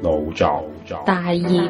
腦作大業。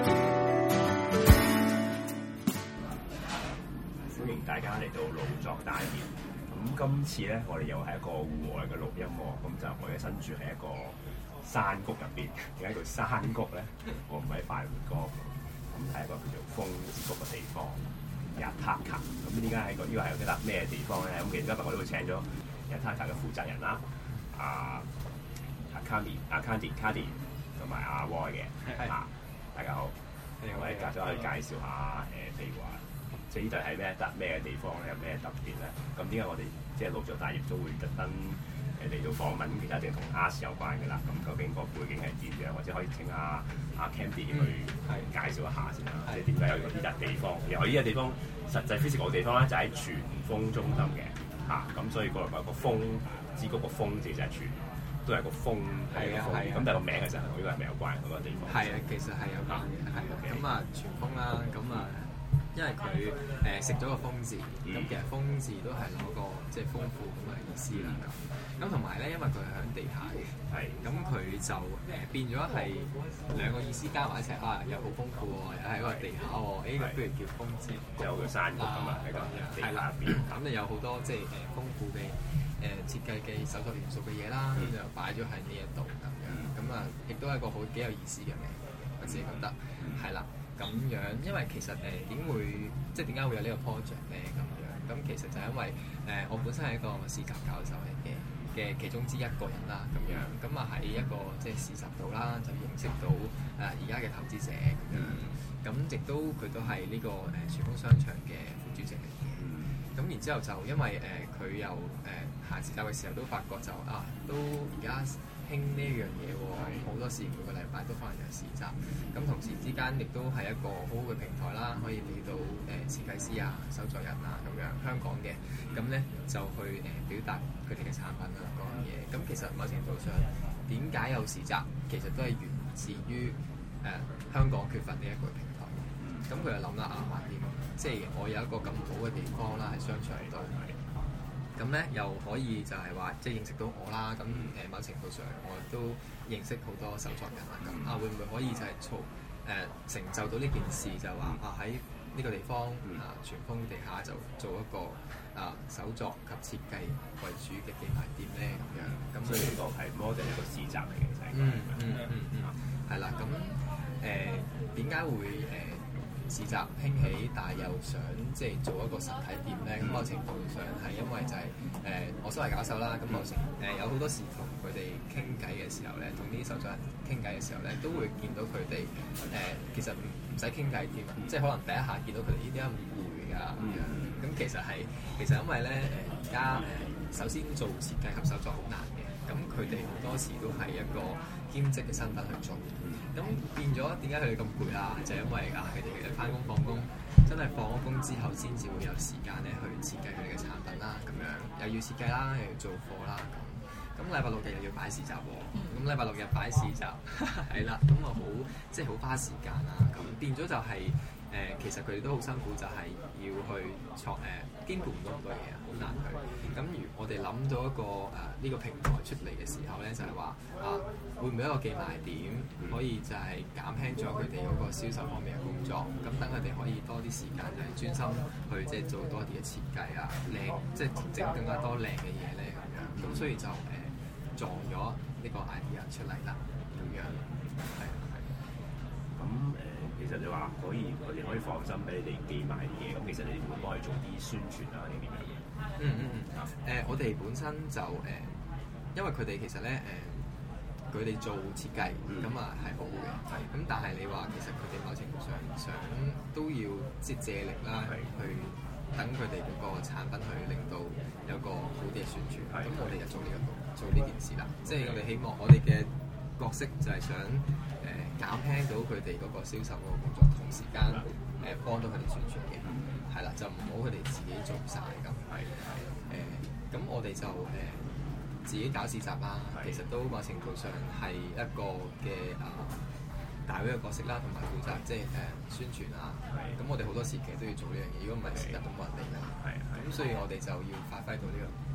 歡迎大家嚟到腦作大業。咁今次咧，我哋又係一個戶外嘅錄音喎。咁就我哋身處喺一個山谷入邊。點解叫山谷咧？我唔係快活歌。咁係一個叫做風之谷嘅地方。Yataka。咁點解喺個呢個係一笪咩地方咧？咁其實今日我都會請咗 Yataka 嘅負責人啦，Candy 同埋阿 Roy 嘅。大家好。我哋隔咗去介紹下譬如話，即係呢度係咩地方咧？有咩特別咧？咁點解我哋即係腦作大業都會特登嚟到訪問？其實一定同 Art 有關嘅啦。咁究竟個背景係點樣？或者可以請阿 Candy 去介紹一下先啦。即係點解有呢笪地方？然後呢個地方實際 physical 嘅地方咧，就喺荃豐中心嘅。咁所以個風之谷個風字就係荃，都係個風係個風。咁但係個名其實同呢個係咪有關嗰個地方？ 係啊，其實係有關嘅。係咁荃豐啦，咁因為佢食咗個風字，咁其實風字都係攞個即係豐富咁嘅意思啦。咁同埋咧，因為佢係喺地下嘅，咁佢就變咗係兩個意思加埋一齊又好豐富喎，又係一個地下喎，不如叫風之谷， 有個山谷咁啊，喺個地下入邊。 咁就有好多即係豐富嘅設計嘅手作元素嘅嘢啦，咁就擺咗喺呢一度咁樣。咁亦都係一個幾有意思嘅名，我自己覺得係啦。咁樣，因為其實點解會有呢個 project 咧？咁樣，咁其實就係因為我本身係一個市集教授嚟嘅其中之一個人啦。咁樣，咁喺一個即係市集度啦，就認識到而家嘅投資者咁樣。咁亦都佢都係呢個荃豐商場嘅副主席嚟嘅。咁然之後就因為佢又行市集嘅時候都發覺就都而家興呢一樣嘢喎，好多時每個禮拜都可能有市集，咁同時之間亦都係一個好好嘅平台啦，可以俾到設計師手作人咁樣香港嘅，咁咧就去表達佢哋嘅產品嗰樣嘢。咁其實某程度上點解有市集，其實都係源自於香港缺乏呢一個平台。咁佢就諗啦橫掂，即係我有一個咁好嘅地方啦，喺商場度。咁咧又可以就係話即係認識到我啦，咁某程度上我都認識好多手作人啦，咁會唔會可以就係成就到呢件事，就話喺呢個地方荃豐地下就做一個手作及設計為主嘅寄賣店咧咁樣。咁所以呢個係 model 一個市集嚟嘅，就係係啦。咁點解會市集興起，但係又想即係做一個實體店咧？咁某程度上係因為就係我身為教授啦，咁我有好多時同佢哋傾偈嘅時候咧，同啲手作人傾偈嘅時候咧，都會見到佢哋其實唔使傾偈添，即係可能第一下見到佢哋呢啲咁攰㗎咁樣。咁其實因為咧而家首先做設計及手作好難嘅，咁佢哋好多時都係一個兼職嘅身份去做。咁變咗點解佢哋咁攰啊？就係因為佢哋翻工放工，真係放咗工之後先至會有時間咧去設計佢哋嘅產品啦，咁樣又要設計啦，又要做貨啦，咁禮拜六日又要擺市集喎，咁禮拜六日擺市集係啦，咁好即係好花時間啦，咁變咗就係其實佢哋都好辛苦，就係要去兼顧唔到咁多嘢，好難去。咁如我哋諗到一個呢個平台出嚟嘅時候咧，就係話會唔會一個寄賣點可以就係減輕咗佢哋嗰個銷售方面嘅工作，咁等佢哋可以多啲時間就係專心去即係做多啲嘅設計靚，即係整更加多靚嘅嘢咧咁樣。咁所以就撞咗呢個 idea 出嚟啦，咁樣係。 咁其實你話佢哋可以放心俾你哋寄賣啲嘢，咁其實你會幫佢做啲宣傳定點樣？ 我哋本身就因為佢哋其實咧佢哋做設計咁係好嘅，咁但係你話其實佢哋某程度上想都要即係借力啦，去等佢哋嗰個產品去令到有個好啲嘅宣傳。咁我哋就做呢件事啦，即係我哋希望我哋嘅角色就係想減輕到佢哋嗰個銷售嗰個工作，同時間幫到佢哋宣傳嘅，係啦，就唔好佢哋自己做晒咁。咁我哋就自己搞市集啦，其實都某程度上係一個嘅大會嘅角色啦，同埋負責即係宣傳咁我哋好多時其實都要做呢樣嘢，如果唔係市集都冇人嚟啦。咁所以我哋就要發揮到呢個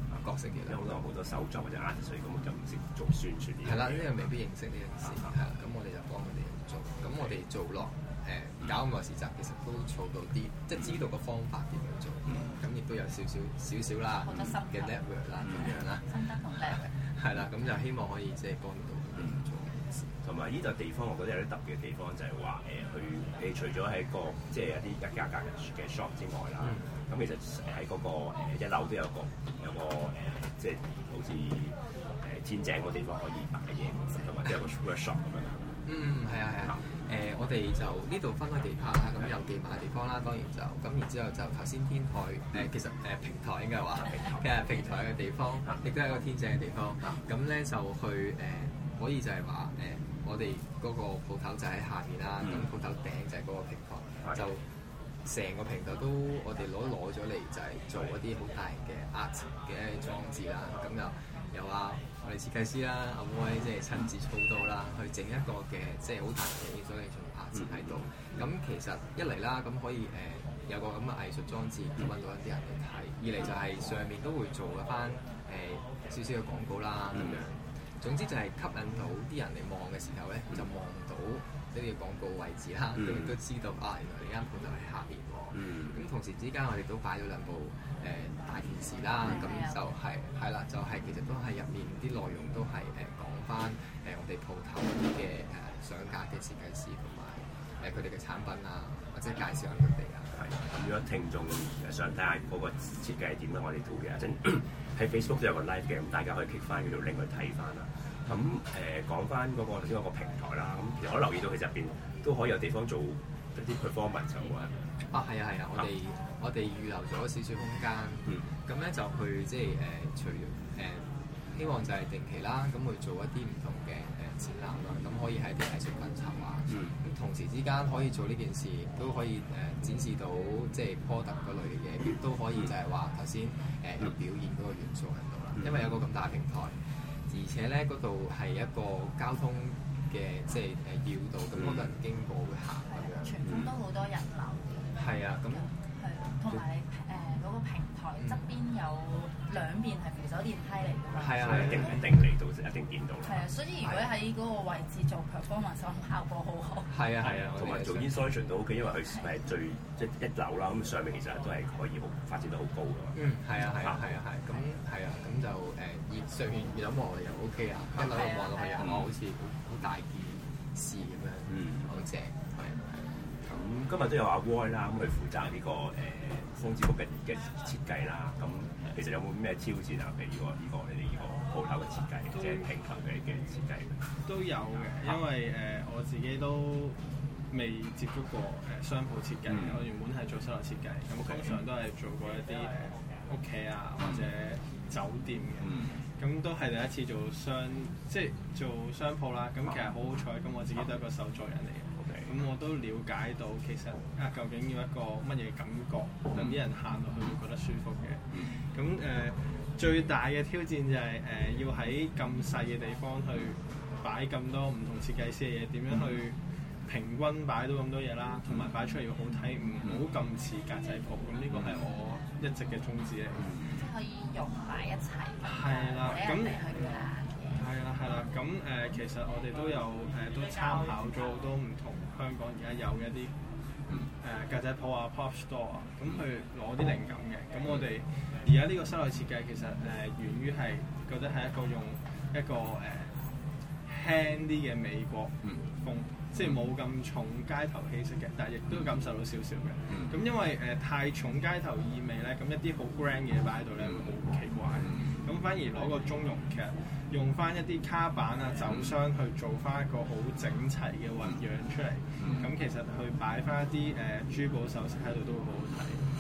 角色嘅啦。 有好多手作或者 artist， 所以根本就唔識做宣傳呢樣嘢。 係啦，呢個未必認識呢件事，係啦，咁我哋就幫佢哋做。咁我哋做落搞咁個市集，其實都儲到啲，即係知道個方法點樣做。咁亦都有少少啦嘅 network 啦咁樣啦。 心得同 network。係啦，咁就希望可以即係幫到佢哋做。 同埋呢個地方，我覺得有啲特別嘅地方就係話你除咗喺個即係一啲一家格嘅 shop 之外啦，咁其實喺嗰個一樓都有個即係好似天井個地方可以擺嘢，同埋都有個 workshop 咁樣。 係啊。我哋就呢度分開幾 part 啦，咁有寄賣嘅地方啦，當然就咁，然之後就頭先天台其實平台應該話平台嘅地方，亦都係一個天井嘅地方。咁咧就去可以就係話我哋嗰個鋪頭就喺下面啦，咁鋪頭頂就係嗰個平台，就成個平台都我哋攞咗嚟就係做一啲好大嘅 art 嘅裝置啦，咁就有我哋設計師啦，阿威即係親自操刀啦，去整一個嘅即係好大嘅所以做 art 喺度。咁其實一嚟啦，咁可以有個咁嘅藝術裝置，揾到一啲人嚟睇；二嚟就係上面都會做一翻少少嘅廣告啦咁樣。總之就係吸引到啲人嚟望嘅時候咧，就望到呢啲廣告位置啦，咁亦都知道原來呢間鋪頭喺下邊喎。咁同時之間我哋都擺咗兩部大電視啦，咁就係啦，就係其實都係入面啲內容都係講翻我哋鋪頭啲嘅上架嘅設計師同埋佢哋嘅產品啊，或者介紹下佢哋啊。 咁如果聽眾想睇下嗰個設計係點咧，我哋都會喺 Facebook 都有個 live 嘅，咁大家可以 click 翻嗰條 link 去睇翻啦。咁講翻嗰個頭先嗰個平台啦，咁其實我留意到其實入邊都可以有地方做一啲 performance 喎。 係啊，我哋預留咗少少空間，咁咧就去即係除希望就係定期啦，咁去做一啲唔同嘅展覽啦，咁可以喺啲藝術品籌啊，咁同時之間可以做呢件事，都可以展示到即係 product 嗰類嘅嘢，亦都可以就係話頭先有表演嗰個元素喺度啦，因為有個咁大平台，而且咧嗰度係一個交通嘅即係要道，咁好多人經過會行咁樣， 全部都好多人流。 係啊，咁同埋你嗰個平台側邊有兩邊係扶手電梯嚟㗎嘛， 一定嚟到一定見到。 係啊，所以如果喺嗰個位置做 performance，效果好好。係啊， 同埋做 installation 都 OK，因為佢係最即係一樓啦，咁上面其實都係可以發展得好高㗎嘛。 係啊，咁就上面越諗望又 OK 啊，一樓望落去又好似好大件事咁樣，好正。 咁今日都有阿 Roy 啦，咁佢負責呢個風之谷嘅設計啦。咁其實有冇咩挑戰啊？譬如你哋呢個鋪頭嘅設計，即係平台嘅設計都有嘅，因為我自己都未接觸過商鋪設計。我原本係做室內設計，咁通常都係做過一啲屋企啊或者酒店嘅。咁都係第一次做做商鋪啦。咁其實好好彩，咁我自己都係一個手作人嚟嘅。咁我都了解到其實究竟要一個乜嘢感覺，等啲人行落去會覺得舒服嘅。咁最大嘅挑戰就係要喺咁細嘅地方去擺咁多唔同設計師嘅嘢，點樣去平均擺到咁多嘢啦，同埋擺出嚟要好睇，唔好咁似格仔鋪。咁呢個係我一直嘅宗旨嚟。 可以融埋一齊。 係啦，咁係啦，咁其實我哋都有都參考咗好多唔同香港而家有嘅一啲格仔鋪啊、pop store 啊，咁去攞啲靈感嘅。咁我哋而家呢個室內設計其實源於係覺得係用一個輕啲嘅美國風，即係冇咁重街頭氣息嘅，但係亦都感受到少少嘅。咁因為太重街頭意味咧，咁一啲好 grand 嘅嘢擺喺度咧會好奇怪。咁反而攞個中庸，其實用翻一啲卡板啊、酒箱去做翻一個好整齊嘅混樣出嚟。咁其實去擺翻一啲珠寶首飾喺度都會好好睇。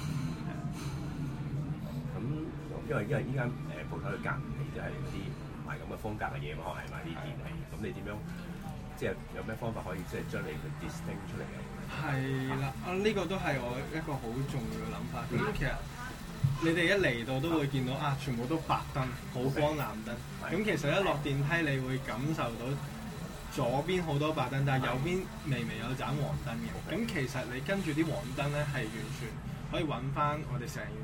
咁因為依間鋪頭嘅隔離都係啲唔係咁嘅風格嘅嘢嘛，可能係賣啲電器。咁你點樣即係有咩方法可以即係將你嘅 distinct 出嚟嘅？ 係啦，呢個都係我一個好重要嘅諗法。咁其實你哋一嚟到都會見到全部都白燈，好光藍燈。咁其實一落電梯，你會感受到左邊好多白燈，但係右邊微微有盞黃燈嘅。咁其實你跟住啲黃燈咧，係完全可以揾翻我哋成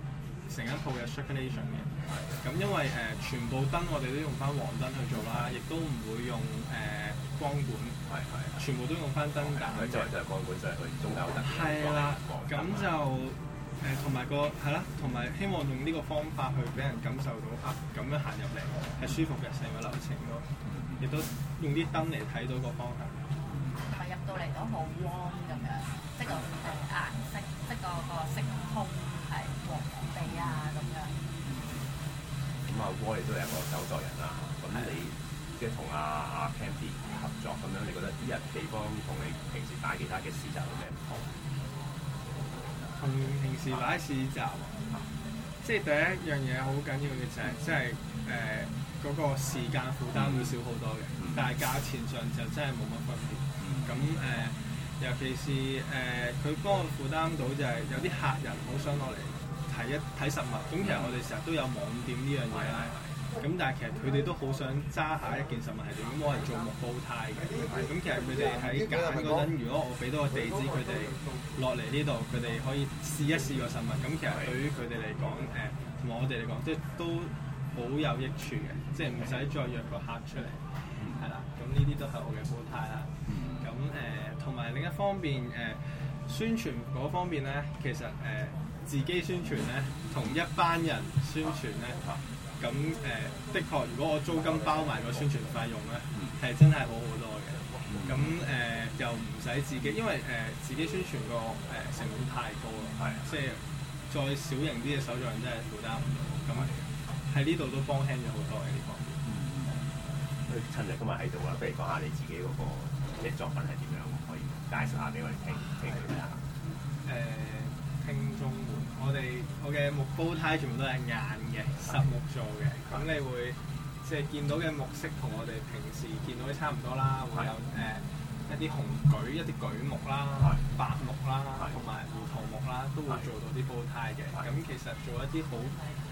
成一套嘅 circulation 嘅。咁因為全部燈我哋都用翻黃燈去做啦，亦都唔會用光管，全部都用翻燈膽。 即係光管就係佢中間有燈。 係啦，咁就同埋係啦，同埋希望用呢個方法去俾人感受到咁樣行入嚟係舒服嘅成個流程咯，亦都用啲燈嚟睇到個方向。 同埋入到嚟都好 warm 咁樣，即係個顏色，即係個色調係黃黃地啊咁樣。 咁Roy都係一個手作人啦，咁你即係同阿 Candy 合作咁樣，你覺得呢日地方同你平時擺其他嘅市集有咩唔同？ 同平時擺市集，即係第一樣嘢好緊要嘅就係，即係嗰個時間負擔會少好多嘅，但係價錢上就真係冇乜分別。咁尤其是佢幫我負擔到就係有啲客人好想落嚟睇實物，咁其實我哋成日都有網店呢樣嘢啦。咁但係其實佢哋都好想揸下一件實物係點，咁我係做木煲呔嘅。咁其實佢哋喺揀嗰陣，如果我俾到個地址佢哋落嚟呢度，佢哋可以試一試個實物。咁其實對於佢哋嚟講，同埋我哋嚟講，即係都好有益處嘅，即係唔使再約個客出嚟，係啦。咁呢啲都係我嘅煲呔啦。咁同埋另一方面宣傳嗰方面咧，其實自己宣傳咧，同一班人宣傳咧。咁的確，如果我租金包埋個宣傳費用咧，係真係好好多嘅。咁又唔使自己，因為自己宣傳個成本太高啦，即係再小型啲嘅手作人真係負擔唔到。咁喺呢度都幫輕咗好多嘅呢方面。 趁日今日喺度啦，不如講下你自己嗰個即係作品係點樣，可以介紹下俾我哋聽下。 聽眾們，我嘅木煲呔全部都係硬嘅，實木做嘅。咁你會即係見到嘅木色同我哋平時見到嘅差唔多啦，會有一啲紅櫸、一啲櫸木啦、白木啦，同埋胡桃木啦，都會做到啲煲呔嘅。咁其實做一啲好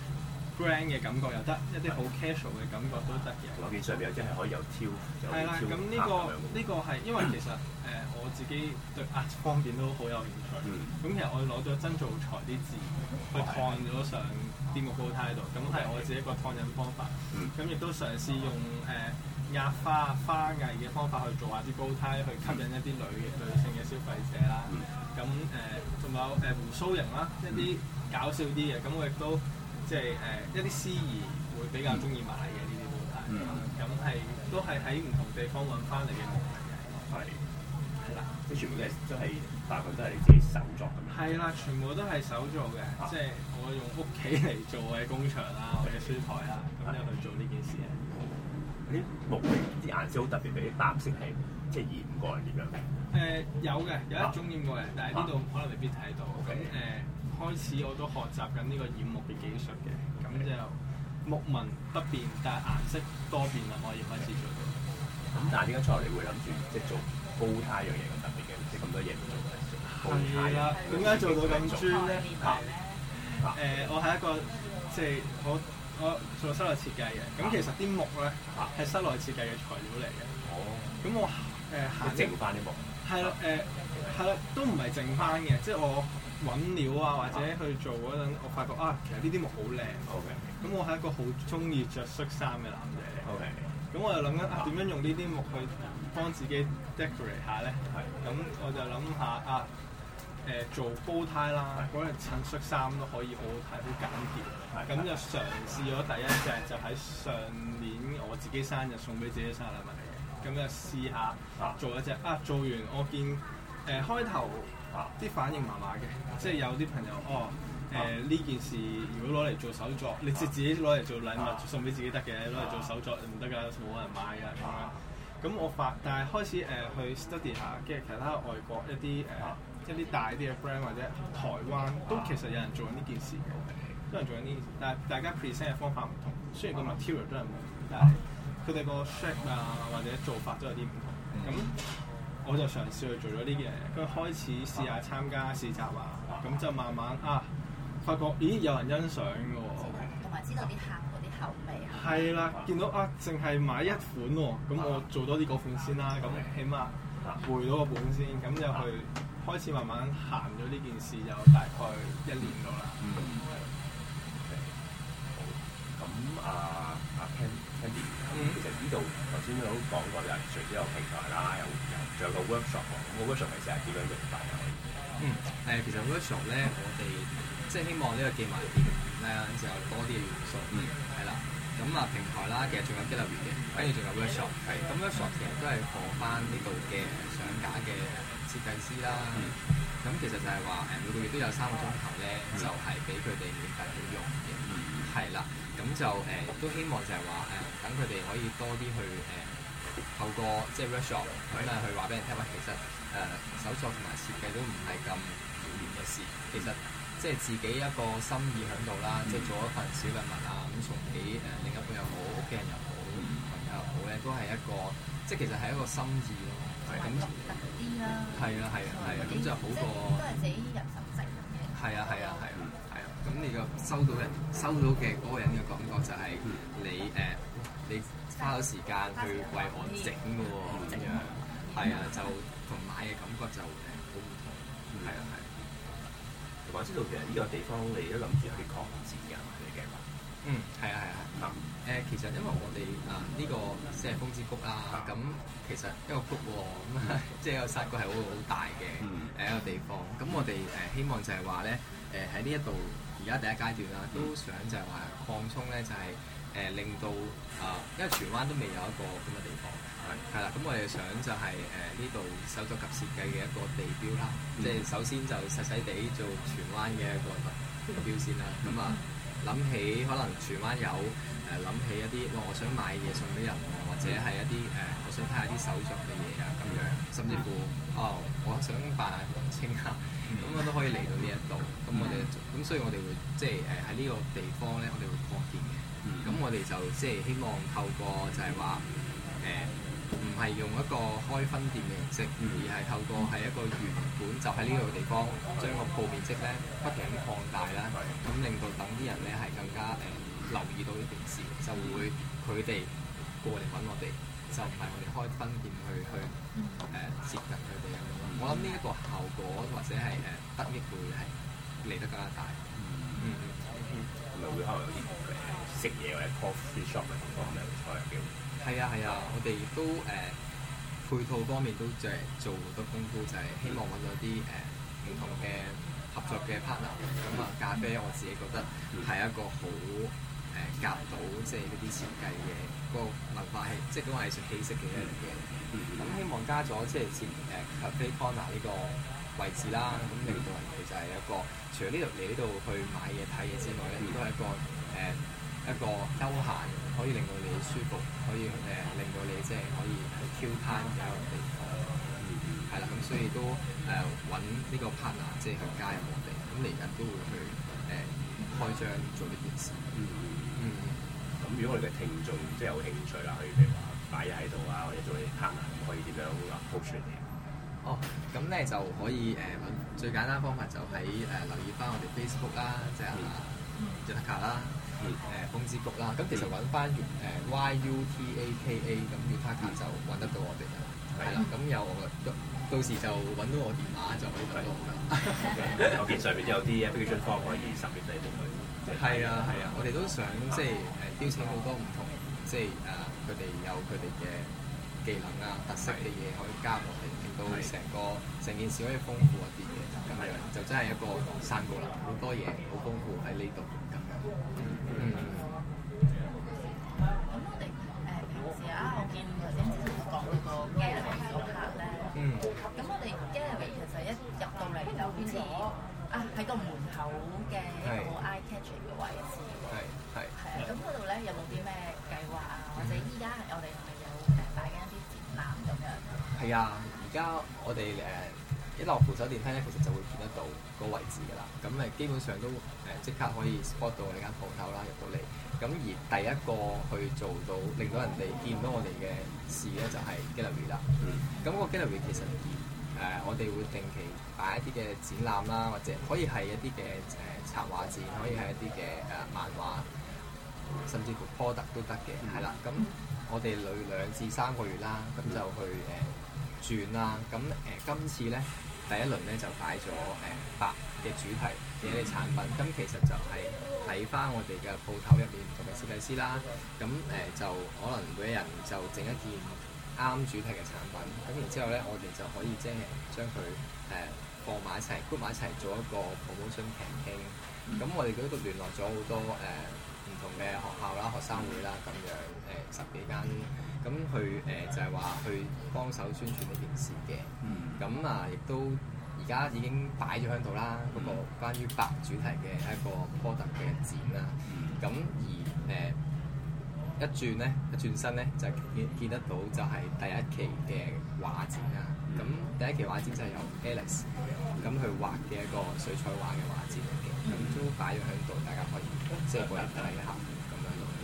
grand 嘅感覺又得，一啲好 casual 嘅感覺都得嘅。 我見上邊有啲係可以有挑， 係啦。咁呢個係因為其實我自己對 art 方面都好有興趣。咁其實我攞咗真造材啲字去燙咗上啲木煲呔度，咁係我自己一個燙印方法。咁亦都嘗試用壓花藝嘅方法去做下啲煲呔，去吸引一啲女性嘅消費者啦。咁仲有鬍鬚形啦，一啲搞笑啲嘅，咁我亦都即係一啲司儀會比較中意買嘅呢啲煲呔。咁都係喺唔同地方揾翻嚟嘅木嚟嘅。係啦， 即係全部都係大部分都係你自己手作咁樣。係啦，全部都係手做嘅，即係我用屋企嚟做嘅工場啦，我嘅書台啦，咁就去做呢件事啊。 啲木啲顏色好特別，啲白色係即係染過係點樣？ 有嘅，有一種染過嘅，但係呢度可能未必睇到。咁開始我都學習緊呢個染木嘅技術嘅，咁就木紋不變，但係顏色多變啦，可以開始做到。 咁但係點解出嚟你會諗住即係做煲呔樣嘢咁特別嘅？即係咁多嘢唔做嘅。 係啦，點解做到咁專咧？我係一個即係我做室內設計嘅，咁其實啲木咧係室內設計嘅材料嚟嘅。咁我整翻啲木。係啦， 都唔係整翻嘅，即係我揾料啊，或者去做嗰陣，我發覺其實呢啲木好靚。咁我係一個好中意着恤衫嘅男仔嚟。咁我就諗緊點樣用呢啲木去幫自己 decorate 下咧？咁我就諗下做煲呔啦，嗰陣襯恤衫都可以好好睇，好簡潔。咁就嘗試咗第一隻，就喺上年我自己生日送俾自己生日禮物嚟嘅。咁就試下做一隻做完我見開頭啲反應麻麻嘅，即係有啲朋友呢件事如果攞嚟做手作，你自己攞嚟做禮物送俾自己得嘅，攞嚟做手作唔得㗎，冇人買㗎咁樣。咁但係開始去 study 下，跟住其他外國一啲大啲嘅 brand 或者台灣都其實有人做緊呢件事嘅，都有人做緊呢件事，但係大家 present 嘅方法唔同，雖然個 material 都係冇，但係佢哋個 shape 或者做法都有啲唔同。咁我就嘗試去做咗呢件嘢，跟住開始試下參加市集咁就慢慢發覺有人欣賞嘅喎， 同埋知道啲客嗰啲口味係啦，見到淨係買一款喎，咁我做多啲嗰款先啦，咁起碼回到個本先，咁就去開始慢慢行咗呢件事，就大概1年到啦。 Candy，其實呢度頭先都講過，就係除咗有平台啦，仲有個 workshop 喎。咁個 workshop 其實係點樣用法啊？ 其實 workshop 咧，我哋即係希望呢個記埋店咧就有多啲嘅元素，係啦。咁平台啦，其實仲有 gallery 嘅，跟住仲有 workshop，咁 workshop 其實都係放翻呢度嘅上架嘅設計師啦。咁其實就係話每個月都有3個鐘頭咧，就係俾佢哋免費去用嘅，係啦。咁就都希望就係話等佢哋可以多啲去透過即係 workshop 咁去話俾人聽，話其實手作同埋設計都唔係咁遙遠嘅事，其實即係自己一個心意喺度啦，即係做一份小禮物啊，咁送俾另一半又好，屋企人又好，朋友又好咧，都係一個即係其實係一個心意咯。咁獨特啲啦。係啊， 咁就好過。 都係自己人手整嘅。係啊。 咁你個收到嘅嗰個人嘅感覺就係你花咗時間去為我整嘅喎，咁樣係啊，就同買嘅感覺就好唔同。係啊。 同埋知道其實呢個地方你都諗住有啲擴展嘅，你計劃？ 係啊。其實因為我哋呢個即係風之谷啦，咁其實一個谷喎，咁即係個山谷係好大嘅一個地方。咁我哋希望就係話咧，喺呢一度而家第一階段啦，都想就係話擴充咧，就係令到因為荃灣都未有一個咁嘅地方，係啦。咁我哋想就係呢度手作及設計嘅一個地標啦，即係首先就細細地做荃灣嘅一個地標先啦。咁諗起可能荃灣有諗起一啲我想買嘢送俾人喎，或者係一啲我想睇下啲手作嘅嘢啊咁樣，甚至乎我想扮下黃青啊，咁我都可以嚟到呢一度。咁我哋咁所以我哋會即係喺呢個地方咧，我哋會擴建嘅。咁我哋就即係希望透過就係話唔係用一個開分店嘅形式，而係透過係一個原本就喺呢個地方將個鋪面積咧不停咁擴大啦，咁令到等啲人咧係更加留意到呢件事，就會佢哋過嚟揾我哋，就唔係我哋開分店去接近佢哋咁樣。我諗呢一個效果或者係得益會係嚟得更加大。 係咪會可能有啲食嘢或者 coffee shop 嘅地方咧，會開嘅？ 係啊，我哋都配套方面都即係做好多功夫，就係希望揾到啲唔同嘅合作嘅 partner。咁咖啡我自己覺得係一個好夾到即係呢啲設計嘅個文化氣，即係嗰個藝術氣息嘅一樣嘢。咁希望加咗即係cafe corner 呢個位置啦，咁令到人哋就係一個除咗呢度嚟呢度去買嘢睇嘢之外咧，亦都係一個休閒，可以令到你舒服，可以令到你即係可以去 Q time 嘅一個地方。係啦，咁所以都揾呢個 partner 即係去加入我哋，咁嚟緊都會去開張做呢件事。 咁如果我哋嘅聽眾即係有興趣啦，可以譬如話擺嘢喺度啊，或者做啲 partner，咁可以點樣 approach 你哋？ 咁咧就可以最簡單方法就喺留意翻我哋 Facebook 啦，即係Yutaka啦。風之谷啦，咁其實揾翻YUTAKA 咁 Yutaka 就揾得到我哋啦，係啦，咁到時就揾到我電話就可以揾到我啦。 我見上面都有啲 application form 可以submit俾你哋。 係啊，我哋都想即係邀請好多唔同，即係佢哋有佢哋嘅技能啊、特色嘅嘢可以加入我哋，令到成件事可以豐富一啲嘅，咁樣就真係一個山谷啦，好多嘢好豐富喺呢度咁樣。 咁我哋平時我見頭先之前都講嗰個 gallery 嗰 part 咧，咁我哋 gallery 其實一入到嚟就好似喺個門口嘅一個 eye catching 嘅位置。係咁嗰度咧有冇啲咩計劃啊？或者依家我哋係咪有擺緊一啲展覽咁樣？ 係啊，而家我哋一落扶手電梯咧，其實就會見得到個位置㗎啦。咁基本上都即刻可以 spot 到我哋間鋪頭啦，入到嚟。咁而第一個去做到令到人哋見到我哋嘅事咧，就係 gallery 啦。咁個 gallery 其實我哋會定期擺一啲嘅展覽啦，或者可以係一啲嘅插畫展，可以係一啲嘅漫畫，甚至乎 product 都得嘅。係啦，咁我哋2至3個月啦，咁就去轉啦。咁今次咧第一輪咧就擺咗白嘅主題嘅一啲產品，咁其實就係睇翻我哋嘅鋪頭入面唔同嘅設計師啦，咁就可能每一人就整一件啱主題嘅產品，咁然之後咧我哋就可以即係將佢放埋一齊 group 埋一齊做一個 promotion campaign，咁我哋嗰度聯絡咗好多唔同嘅學校啦、學生會啦咁樣10幾間，咁去就係話去幫手宣傳呢件事嘅，咁亦都而家已經擺咗喺度啦，嗰個關於白主題嘅一個 product 嘅展啦，咁而一轉身咧就見得到就係第一期嘅畫展啦，咁第一期畫展就係由 Alex 咁去畫嘅一個水彩畫嘅畫展嚟嘅，咁都擺咗喺度，大家可以即係過嚟睇下咁樣咯。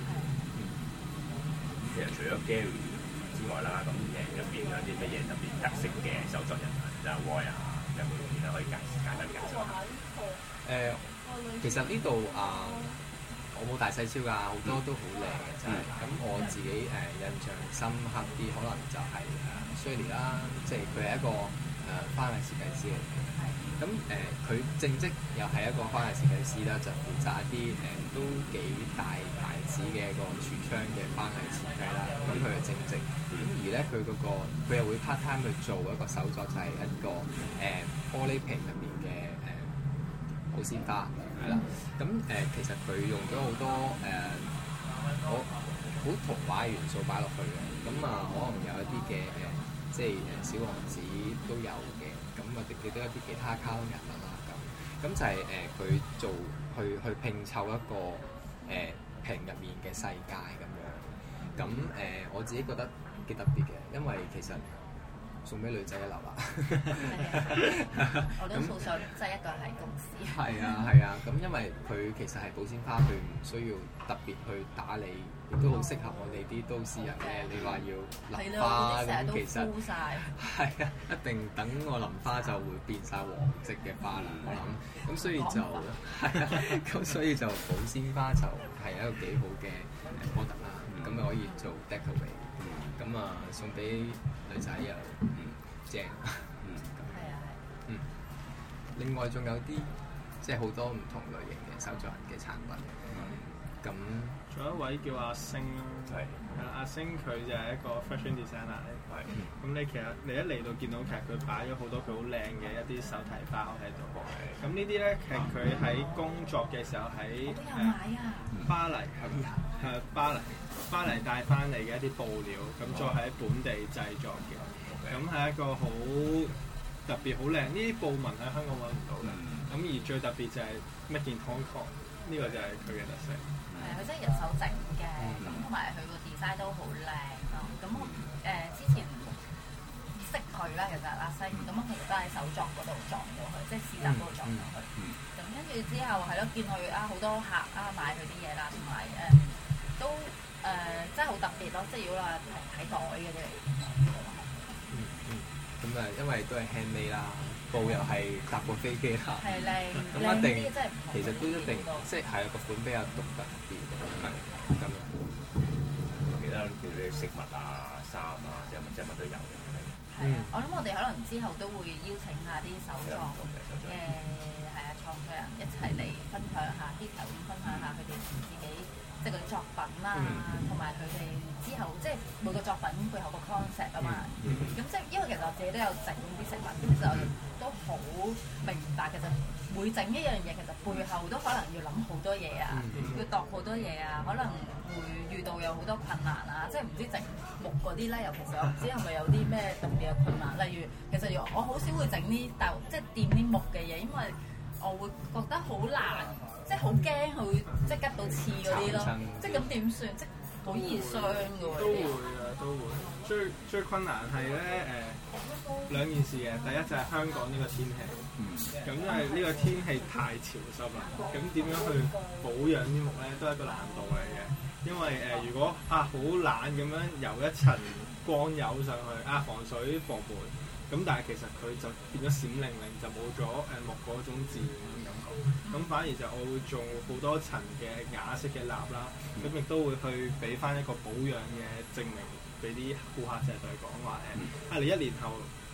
其實除咗 Gary 之外啦，咁入邊有啲乜嘢特別特色嘅手作人啊，就係 Roy 啊，有冇啲咧可以簡單介紹下？ 其實呢度我冇大細超㗎，好多都好靚嘅真係。咁我自己印象深刻啲，可能就係Shirley 啦，即係佢係一個花藝設計師嚟嘅。咁佢正職又係一個花藝設計師啦，就負責一啲都幾大牌子嘅一個櫥窗嘅花藝設計啦。咁佢係正職，咁而咧佢又會 part time 去做一個手作，就係一個玻璃瓶入面嘅保鮮花。係啦，咁其實佢用咗好多好童話嘅元素擺落去嘅，咁可能有一啲嘅即係小王子都有嘅，咁我哋記得一啲其他卡通人物啦，咁就係佢做去拼湊一個瓶入面嘅世界咁樣，咁我自己覺得幾特別嘅，因為其實送俾女仔一流啦， 我都好想即係一個係公司。 係啊，咁因為佢其實係保鮮花，佢唔需要特別去打理，亦都好適合我哋啲都市人嘅。你話要淋花咁，其實係啊，一定等我淋花就會變晒黃色嘅花啦。我諗，咁所以就係啊，咁所以就保鮮花就係一個幾好嘅 product 啦。咁你可以做 decorate。咁送俾女仔又正，另外仲有啲即係好多唔同類型嘅手作人嘅產品。咁仲有一位叫阿星啦，係阿星佢就係一個 fashion designer 嚟。咁你其實你一嚟到見到其實佢擺咗好多佢好靚嘅一啲手提包喺度。咁呢啲咧其實佢喺工作嘅時候喺巴黎係巴黎帶翻嚟嘅一啲布料，咁再喺本地製作嘅，咁係一個好特別、好靚。呢啲布紋喺香港揾唔到嘅，咁而最特別就係 Made in Hong Kong，呢個就係佢嘅特色。 係佢真係人手整嘅，咁同埋佢個 design 都好靚咯。咁我之前識佢啦，其實阿星，咁我其實都喺手作嗰度撞到佢，即係市集嗰度撞到佢。咁跟住之後係咯，見佢好多客買佢啲嘢啦，同埋都真係好特別咯，即係如果話睇袋嘅啫。 咁因為都係 handmade 啦，布又係搭過飛機啦， 係靚， 咁一定其實都一定即係個款比較獨特啲，係咁樣。 其他叫啲飾物啊、衫啊，即係乜都有嘅。 係啊，我諗我哋可能之後都會邀請下啲手作嘅創作人一齊嚟分享下啲頭，分享下佢哋自己即係嗰啲作品啦，同埋佢哋之後即係每個作品背後個 concept 啊嘛。咁即係因為其實我自己都有整啲飾物，咁就都好明白其實每整一樣嘢其實背後都可能要諗好多嘢啊，要度好多嘢啊，可能會遇到有好多困難啊，即係唔知整木嗰啲咧，尤其是我唔知係咪有啲咩特別嘅困難，例如其實我好少會整啲即係掂啲木嘅嘢，因為我會覺得好難，即係好驚佢會即係吉到刺嗰啲咯，即係咁點算？即係好易傷㗎喎。 都會。最困難係咧兩件事嘅，第一就係香港呢個天氣，咁因為呢個天氣太潮濕啦，咁點樣去保養啲木咧都係一個難度嚟嘅，因為如果好懶咁樣油一層光油上去防水防霉，咁但係其實佢就變咗閃靈靈，就冇咗木嗰種自然嘅感覺。咁反而就我會做好多層嘅啞色嘅蠟啦，咁亦都會去俾翻一個保養嘅證明俾啲顧客，就係對佢講話你1年後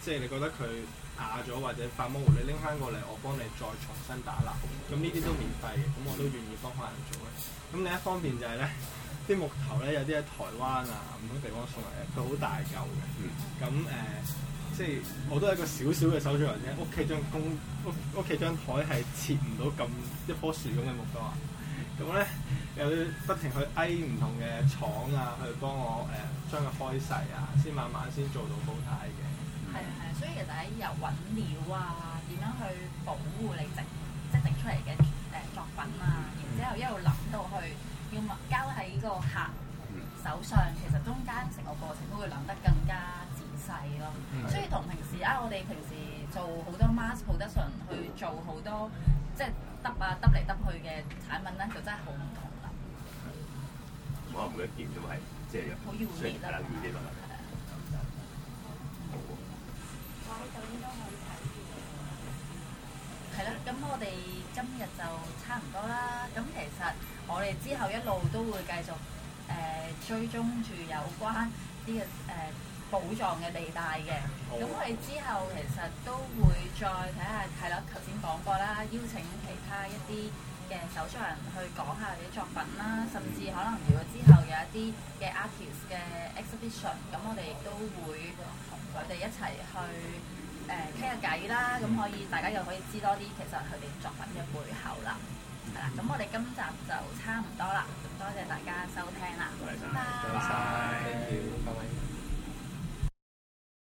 即係你覺得佢啞咗或者發模糊，你拎翻過嚟，我幫你再重新打蠟。咁呢啲都免費嘅，咁我都願意幫客人做嘅。咁另一方面就係咧，啲木頭咧有啲喺台灣啊唔同地方送嚟嘅，佢好大嚿嘅。咁即係我都係一個小小嘅手作人啫。屋企張台係切唔到咁一棵樹咁嘅木頭啊。咁咧又要不停去唔同嘅廠啊，去幫我將佢開細啊，先慢慢先做到好睇嘅。 係，所以其實喺由揾料啊，點樣去保護你整出嚟嘅作品啊，然之後一路諗到去要交喺個客手上，其實中間成個過程都會諗得更加仔細咯。所以同平時我哋平時做好多 mass production 去做好多即係揼嚟揼去嘅產品咧，就真係好唔同啦。 可能每一件都係即係好要熱啦，係啦，咁我哋今日就差唔多啦。咁其實我哋之後一路都會繼續追蹤住有關呢個寶藏嘅地帶嘅。咁我哋之後其實都會再睇下，係啦，頭先講過啦，邀請其他一啲嘅手作人去講下佢啲作品啦，甚至可能如果之後有一啲嘅 artist 嘅 exhibition，咁我哋亦都會同佢哋一齊去傾下偈啦，咁可以大家又可以知多啲其實佢哋作品嘅背後啦。係啦，咁我哋今集就差唔多啦，多謝大家收聽啦，拜拜。 Thank you，拜拜。